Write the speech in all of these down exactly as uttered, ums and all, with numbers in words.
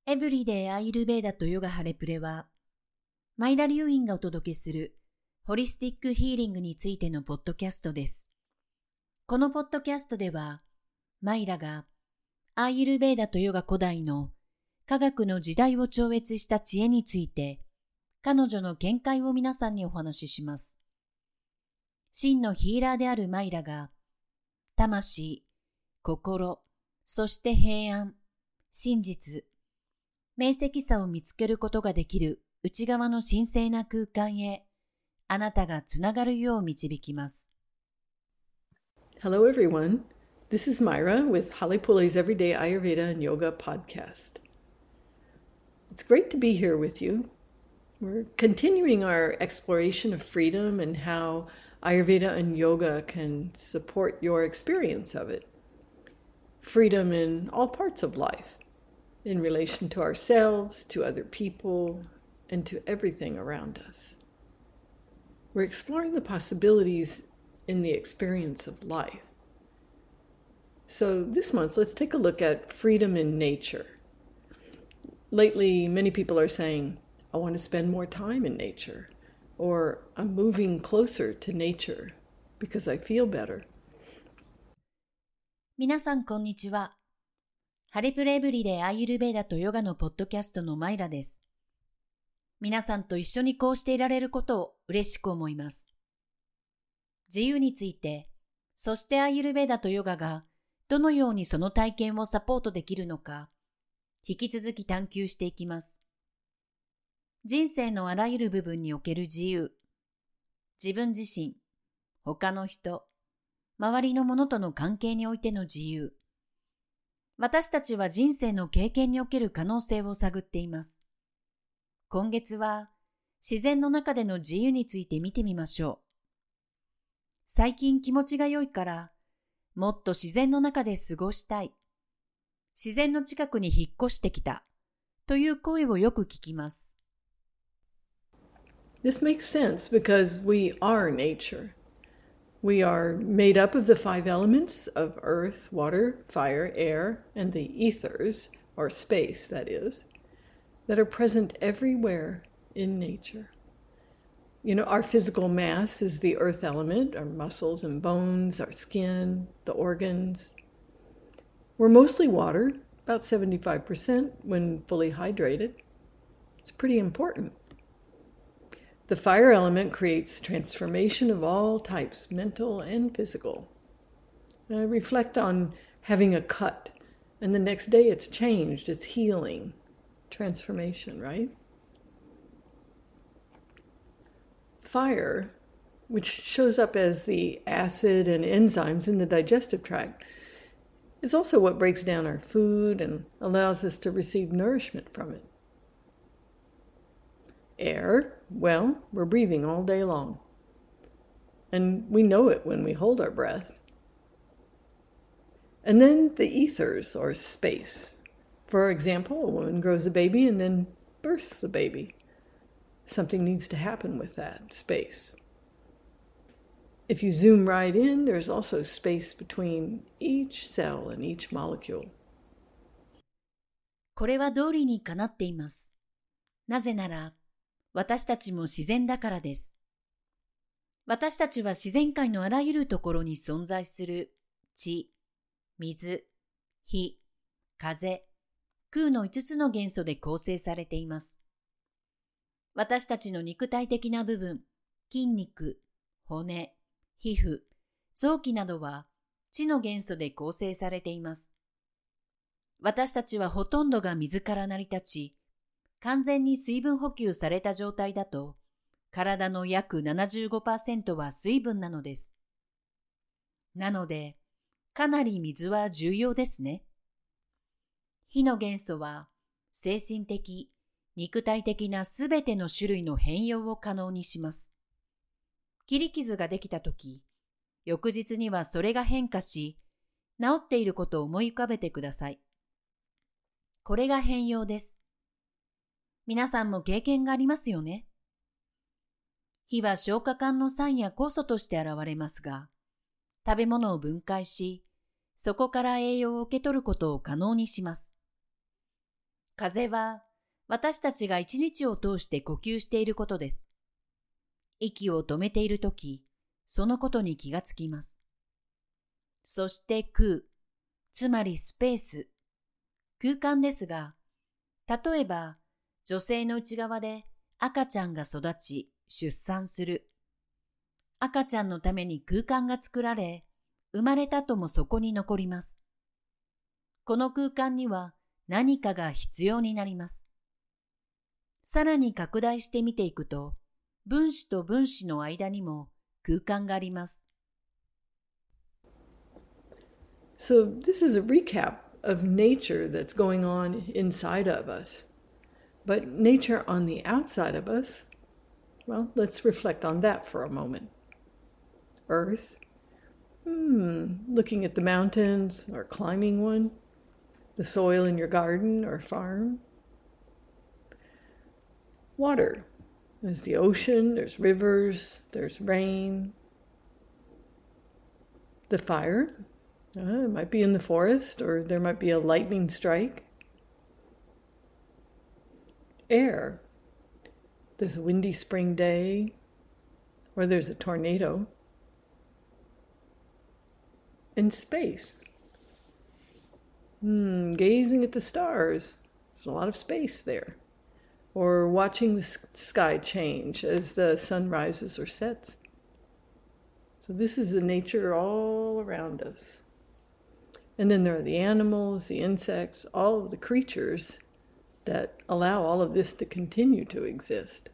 エブリデイアーユルヴェーダとヨガハレプレは、マイラ・リュウインがお届けするホリスティックヒーリングについてのポッドキャストです。このポッドキャストでは、マイラがアーユルヴェーダとヨガ古代の科学の時代を超越した知恵について、彼女の見解を皆さんにお話しします。真のヒーラーであるマイラが、魂、心、そして平安、真実、明晰さを見つけることができる内側の神聖な空間へ、あなたがつながるよう導きます。 Hello everyone, this is Myra with Holly Pulley's Everyday Ayurveda and Yoga podcast. It's great to be here with you. We're continuing our exploration of freedom and how Ayurveda and yoga can support your experience of it. Freedom in all parts of life, in relation to ourselves, to other people, and to everything around us. We're exploring the possibilities in the experience of life. So this month, let's take a look at freedom in nature. Lately, many people are saying, I want to spend more time in nature, or I'm moving closer to nature because I feel better. 皆さんこんにちは。ハレプレエブリでアーユルヴェーダとヨガのポッドキャストのマイラです。皆さんと一緒にこうしていられることを嬉しく思います。自由について、そしてアーユルヴェーダとヨガがどのようにその体験をサポートできるのか、引き続き探求していきます。人生のあらゆる部分における自由、自分自身、他の人、周りのものとの関係においての自由。私たちは人生の経験における可能性を探っています。今月は自然の中での自由について見てみましょう。最近気持ちが良いから、もっと自然の中で過ごしたい。自然の近くに引っ越してきた。という声をよく聞きます。 This makes sense because we are nature. We are made up of the five elements of earth, water, fire, air, and the ethers, or space, that is, that are present everywhere in nature. You know, our physical mass is the earth element, our muscles and bones, our skin, the organs. We're mostly water, about seventy-five percent when fully hydrated. It's pretty important. The fire element creates transformation of all types, mental and physical. I reflect on having a cut, and the next day it's changed, it's healing, transformation, right? Fire, which shows up as the acid and enzymes in the digestive tract, is also what breaks down our food and allows us to receive nourishment from it. Air, well, we're breathing all day long. And we know it when we hold our breath. And then the ethers, or space. For example, a woman grows a baby and then births the baby. Something needs to happen with that space. If you zoom right in, there's also space between each cell and each molecule. これは道理にかなっています。なぜなら、私たちも自然だからです。私たちは自然界のあらゆるところに存在する地、水、火、風、空の五つの元素で構成されています。私たちの肉体的な部分、筋肉、骨、皮膚、臓器などは地の元素で構成されています。私たちはほとんどが水から成り立ち、完全に水分補給された状態だと、体の約 ななじゅうごパーセント は水分なのです。なので、かなり水は重要ですね。火の元素は、精神的、肉体的なすべての種類の変容を可能にします。切り傷ができたとき、翌日にはそれが変化し、治っていることを思い浮かべてください。これが変容です。皆さんも経験がありますよね。火は消化管の酸や酵素として現れますが、食べ物を分解し、そこから栄養を受け取ることを可能にします。 風は私たちが一日を通して呼吸していることです。息を止めているとき、そのことに気がつきます。そして空、つまりスペース、空間ですが、例えば女性の内側で赤ちゃんが育ち、出産する。赤ちゃんのために空間が作られ、生まれたともそこに残ります。この空間には何かが必要になります。さらに拡大して見ていくと、分子と分子の間にも空間があります。 So this is a recap of nature that's going on inside of us. But nature on the outside of us, well, let's reflect on that for a moment. Earth, hmm, looking at the mountains or climbing one, the soil in your garden or farm. Water, there's the ocean, there's rivers, there's rain. The fire, uh, it might be in the forest or there might be a lightning strike. Air, there's a windy spring day or there's a tornado. And space, hmm, gazing at the stars, there's a lot of space there. Or watching the sky change as the sun rises or sets. So this is the nature all around us. And then there are the animals, the insects, all of the creatures that allow all of this to continue to exist.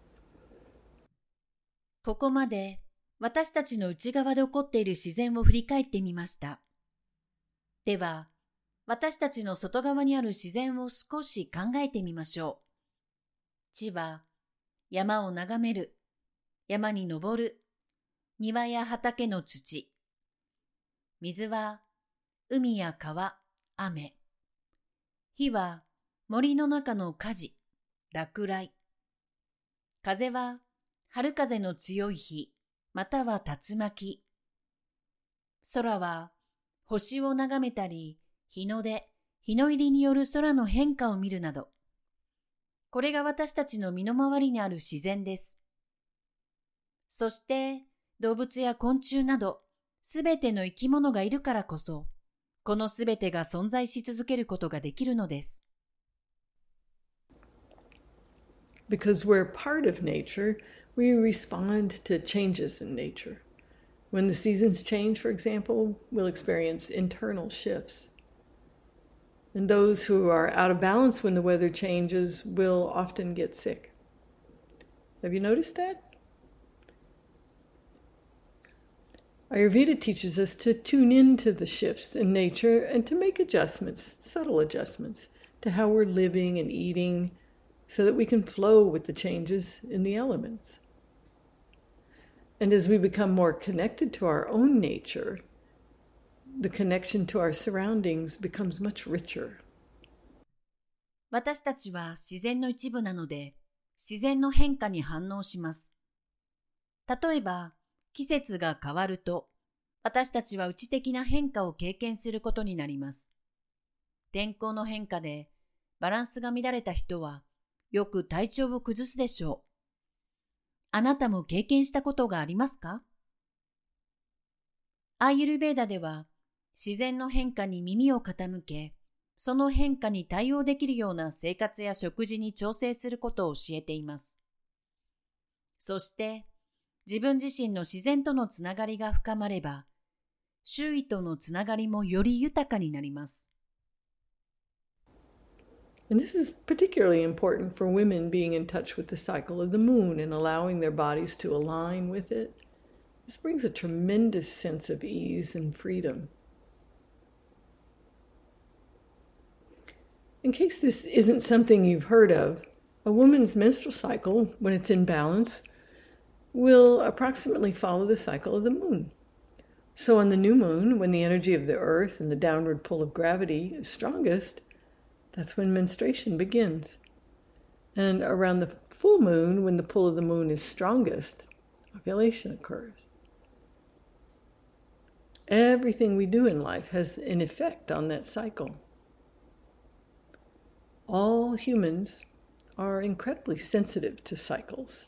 ここまで私たちの内側で起こっている自然を振り返ってみました。では、私たちの外側にある自然を少し考えてみましょう。地は山を眺める、山に登る、庭や畑の土。水は海や川、雨。火は森の中の火事、落雷。風は春風の強い日、または竜巻。空は星を眺めたり、日の出、日の入りによる空の変化を見るなど、これが私たちの身の回りにある自然です。そして動物や昆虫など、すべての生き物がいるからこそ、このすべてが存在し続けることができるのです。 Because we're part of nature, we respond to changes in nature. When the seasons change, for example, we'll experience internal shifts. And those who are out of balance when the weather changes will often get sick. Have you noticed that? Ayurveda teaches us to tune into the shifts in nature and to make adjustments, subtle adjustments, to how we're living and eating so that we can flow with the changes in the elements. And as we become more connected to our own nature, the connection to our surroundings becomes much richer. 私たちは自然の一部なので、自然の変化に反応します。例えば、季節が変わると、私たちは内的な変化を経験することになります。天候の変化でバランスが乱れた人は、よく体調を崩すでしょう。あなたも経験したことがありますか？アーユルヴェーダでは、自然の変化に耳を傾け、その変化に対応できるような生活や食事に調整することを教えています。そして、自分自身の自然とのつながりが深まれば、周囲とのつながりもより豊かになります。 And this is particularly important for women being in touch with the cycle of the moon and allowing their bodies to align with it. This brings a tremendous sense of ease and freedom. In case this isn't something you've heard of, a woman's menstrual cycle, when it's in balance, will approximately follow the cycle of the moon. So on the new moon, when the energy of the earth and the downward pull of gravity is strongest, that's when menstruation begins. And around the full moon, when the pull of the moon is strongest, ovulation occurs. Everything we do in life has an effect on that cycle. All humans are incredibly sensitive to cycles,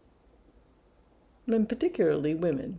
and particularly women.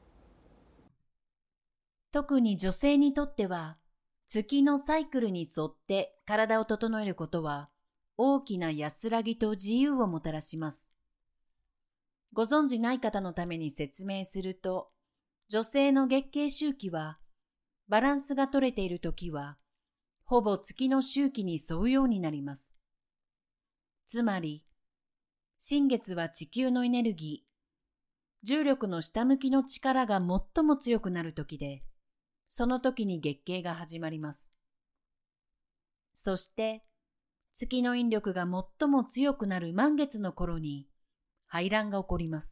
特に女性にとっては、月のサイクルに沿って体を整えることは、大きな安らぎと自由をもたらします。ご存じない方のために説明すると、女性の月経周期は、バランスが取れているときは、ほぼ月の周期に沿うようになります。つまり、新月は地球のエネルギー、重力の下向きの力が最も強くなるときで、その時に月経が始まります。そして、月の引力が最も強くなる満月の頃に排卵が起こります。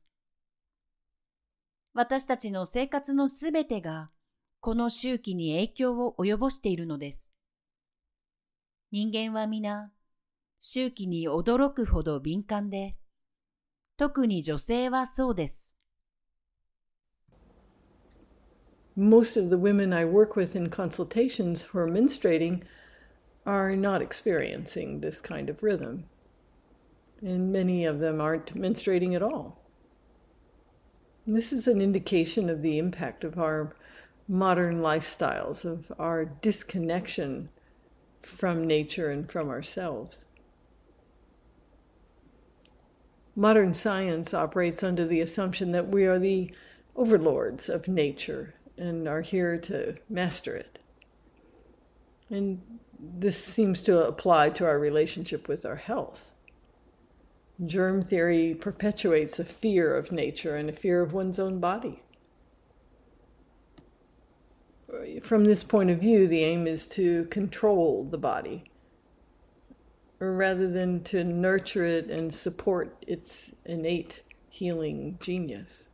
私たちの生活のすべてがこの周期に影響を及ぼしているのです。人間は皆、周期に驚くほど敏感で、特に女性はそうです。 Most of the women I work with in consultations who are menstruating are not experiencing this kind of rhythm. And many of them aren't menstruating at all. And this is an indication of the impact of our modern lifestyles, of our disconnection from nature and from ourselves. Modern science operates under the assumption that we are the overlords of nature and are here to master it. And this seems to apply to our relationship with our health. Germ theory perpetuates a fear of nature and a fear of one's own body. From this point of view, the aim is to control the body, rather than to nurture it and support its innate healing genius.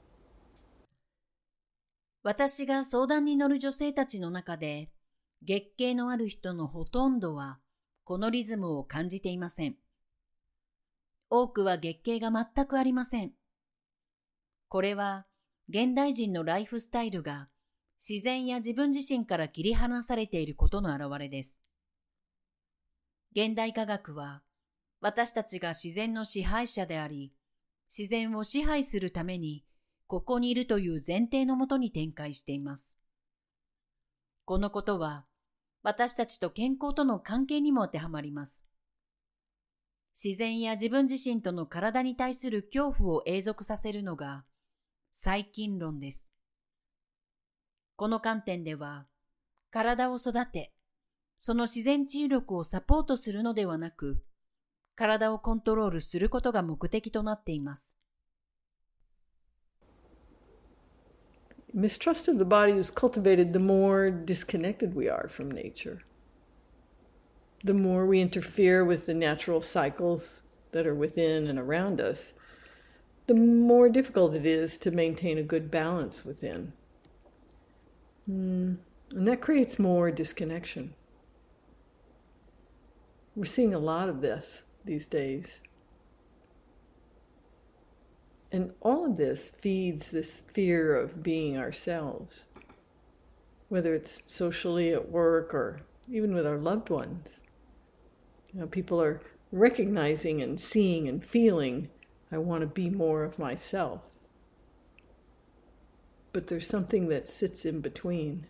私が相談に乗る女性たちの中で、月経のある人のほとんどは、このリズムを感じていません。多くは月経が全くありません。これは、現代人のライフスタイルが、自然や自分自身から切り離されていることの表れです。現代科学は、私たちが自然の支配者であり、自然を支配するために、ここにいるという前提のもとに展開しています。このことは、私たちと健康との関係にも当てはまります。自然や自分自身との体に対する恐怖を永続させるのが、細菌論です。この観点では、体を育て、その自然治癒力をサポートするのではなく、体をコントロールすることが目的となっています。 Mistrust of the body is cultivated the more disconnected we are from nature. The more we interfere with the natural cycles that are within and around us, the more difficult it is to maintain a good balance within. Mm, and that creates more disconnection. We're seeing a lot of this these days. And all of this feeds this fear of being ourselves, whether it's socially at work or even with our loved ones. You know, people are recognizing and seeing and feeling, I want to be more of myself. But there's something that sits in between.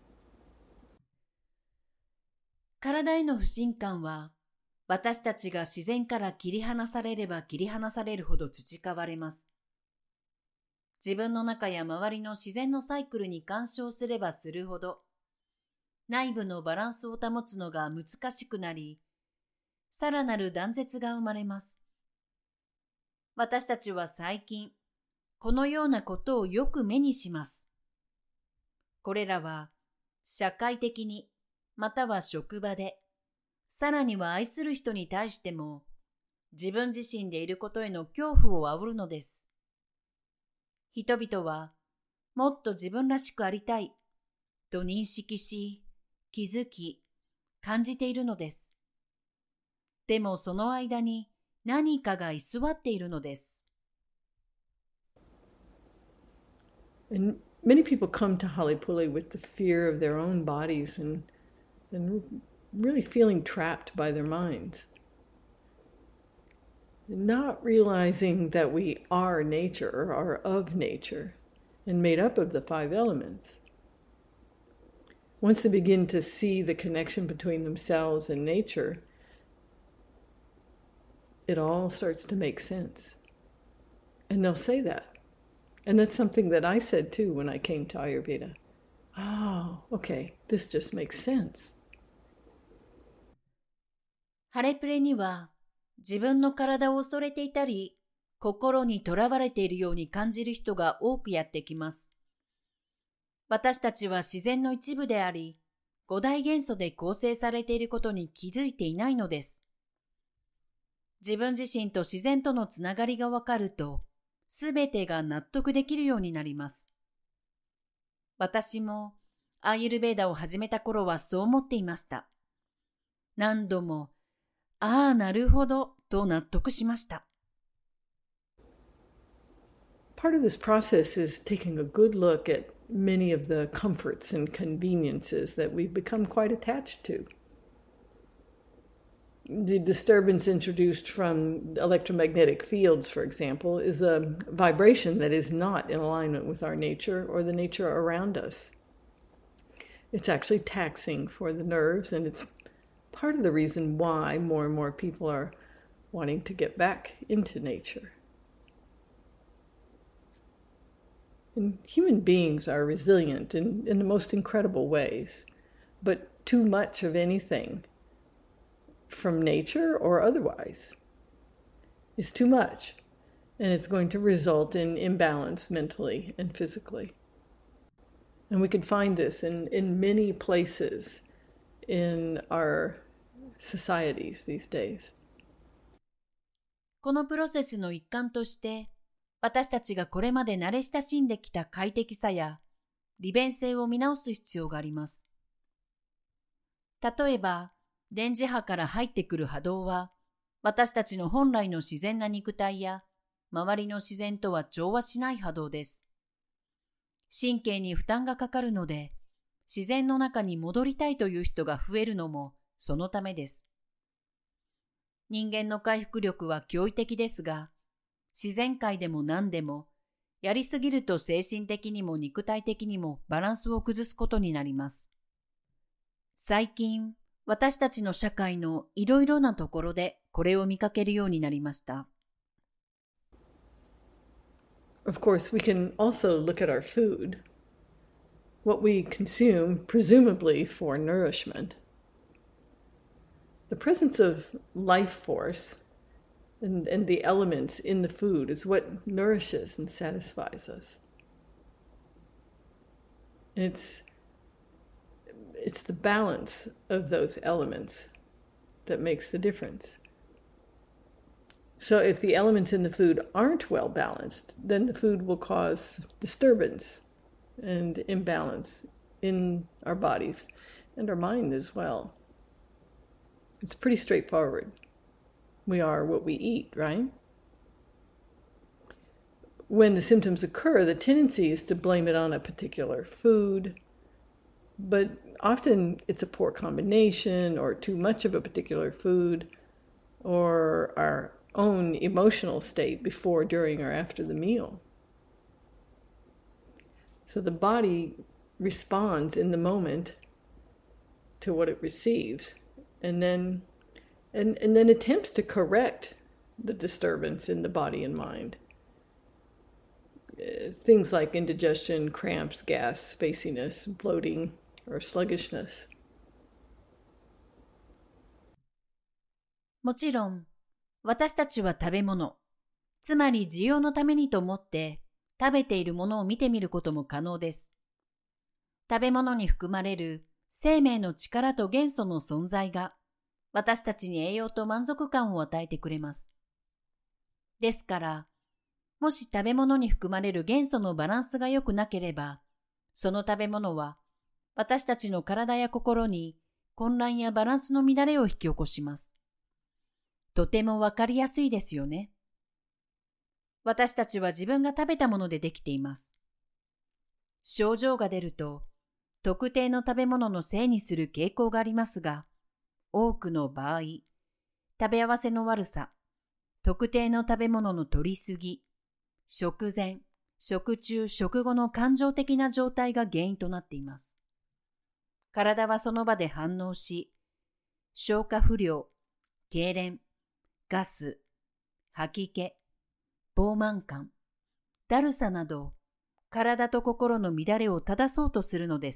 体への不信感は、私たちが自然から切り離されれば切り離されるほど培われます。自分の中や周りの自然のサイクルに干渉すればするほど、内部のバランスを保つのが難しくなり、さらなる断絶が生まれます。私たちは最近、このようなことをよく目にします。これらは、社会的に、または職場で、さらには愛する人に対しても、自分自身でいることへの恐怖を煽るのです。人々は、もっと自分らしくありたい、と認識し、気づき、感じているのです。でもその間に何かが居座っているのです。 And many people come to Halipuli with the fear of their own bodies and, and really feeling trapped by their minds. Not realizing that we are nature, or are of nature, and made up of the five elements. Once they begin to see the connection between themselves and nature, it all starts to make sense. And they'll say that. And that's something that I said too when I came to Ayurveda. Oh, okay, this just makes sense. ハレプレには自分の体を恐れていたり、心にとらわれているように感じる人が多くやってきます。私たちは自然の一部であり、五大元素で構成されていることに気づいていないのです。自分自身と自然とのつながりがわかると、すべてが納得できるようになります。私もアーユルヴェーダを始めた頃はそう思っていました。何度も、ああ、なるほど、と納得しました。 Part of this process is taking a good look at many of the comforts and conveniences that we've become quite attached to. The disturbance introduced from electromagnetic fields, for example, is a vibration that is not in alignment with our nature or the nature around us. It's actually taxing for the nerves, and it's part of the reason why more and more people are wanting to get back into nature. And human beings are resilient in, in the most incredible ways, but too much of anything, from nature or otherwise, is too much, and it's going to result in imbalance mentally and physically. And we can find this in, in many places in our societies these days. このプロセスの一環として、私たちがこれまで慣れ親しんできた快適さや利便性を見直す必要があります。例えば、電磁波から入ってくる波動は、私たちの本来の自然な肉体や周りの自然とは調和しない波動です。神経に負担がかかるので、自然の中に戻りたいという人が増えるのもそのためです。人間の回復力は驚異的ですが、自然界でも何でも、やりすぎると精神的にも肉体的にもバランスを崩すことになります。最近、私たちの社会のいろいろなところでこれを見かけるようになりました。 Of course, we can also look at our food, what we consume, presumably for nourishment. The presence of life force and, and the elements in the food is what nourishes and satisfies us. And it's, it's the balance of those elements that makes the difference. So if the elements in the food aren't well balanced, then the food will cause disturbance and imbalance in our bodies and our mind as well. It's pretty straightforward. We are what we eat, right? When the symptoms occur, the tendency is to blame it on a particular food, but often it's a poor combination or too much of a particular food or our own emotional state before, during, or after the meal. So the body responds in the moment to what it receives, and then and, and then attempts to correct the disturbance in the body and mind. Uh, things like indigestion, cramps, gas, spaciness, bloating, or sluggishness. もちろん、私たちは食べ物、つまり需要のためにと思って食べているものを見てみることも可能です。食べ物に含まれる生命の力と元素の存在が私たちに栄養と満足感を与えてくれます。ですから、もし食べ物に含まれる元素のバランスが良くなければ、その食べ物は私たちの体や心に混乱やバランスの乱れを引き起こします。とてもわかりやすいですよね。私たちは自分が食べたものでできています。症状が出ると、特定の食べ物のせいにする傾向がありますが、 多くの場合、食べ合わせの悪さ、特定の食べ物の摂りすぎ、食前、食中、食後の感情的な状態が原因となっています。体はその場で反応し、消化不良、痙攣、ガス、吐き気、膨満感、だるさなど、体と心の乱れを正そうとするのです。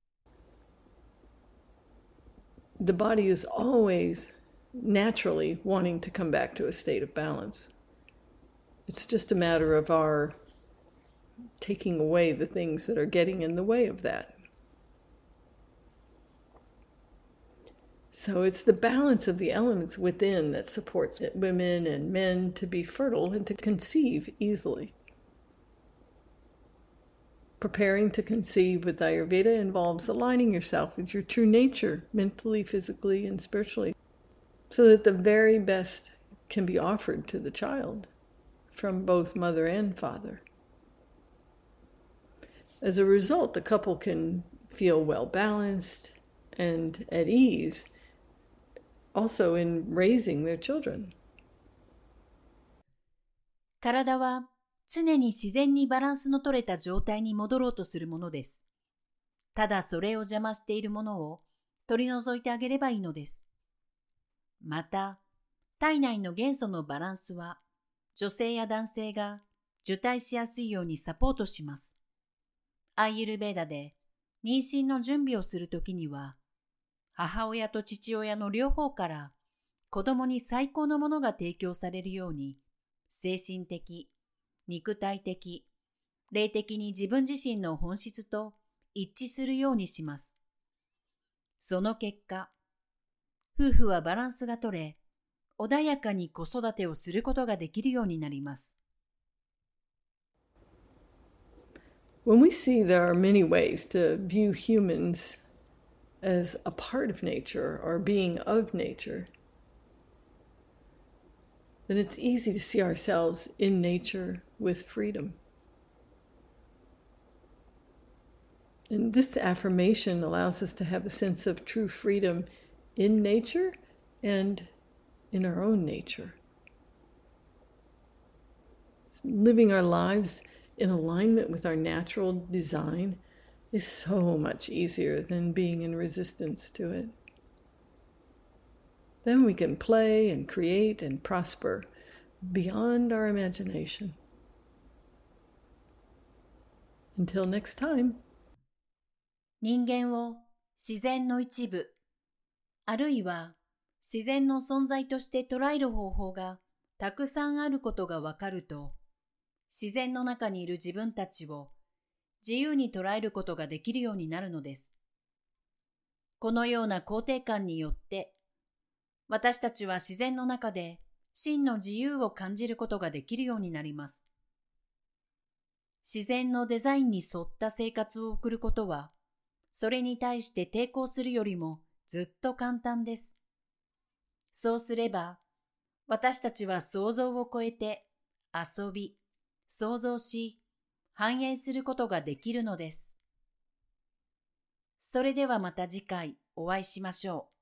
The body is always naturally wanting to come back to a state of balance. It's just a matter of our taking away the things that are getting in the way of that. So it's the balance of the elements within that supports women and men to be fertile and to conceive easily. Preparing to conceive with Ayurveda involves aligning yourself with your true nature, mentally, physically, and spiritually, so that the very best can be offered to the child from both mother and father. As a result, the couple can feel well balanced and at ease, also in raising their children. 体は常に自然にバランスの取れた状態に戻ろうとするものです。ただそれを邪魔しているものを取り除いてあげればいいのです。また、体内の元素のバランスは女性や男性が受胎しやすいようにサポートします。アーユルヴェーダで妊娠の準備をするときには、母親と父親の両方から子供に最高のものが提供されるように、精神的、肉体的、霊的に自分自身の本質と一致するようにします。その結果、夫婦はバランスが取れ、穏やかに子育てをすることができるようになります。 When we see there are many ways to view humans as a part of nature or being of nature, then it's easy to see ourselves in nature with freedom. And this affirmation allows us to have a sense of true freedom in nature and in our own nature. Living our lives in alignment with our natural design is so much easier than being in resistance to it. Then we can play and create and prosper beyond our imagination. Until next time. 人間を自然の一部、あるいは自然の存在として捉える方法がたくさんあることがわかると、自然の中にいる自分たちを自由に捉えることができるようになるのです。このような肯定感によって、私たちは自然の中で真の自由を感じることができるようになります。自然のデザインに沿った生活を送ることは、それに対して抵抗するよりもずっと簡単です。そうすれば、私たちは想像を超えて遊び、想像し、反映することができるのです。それではまた次回お会いしましょう。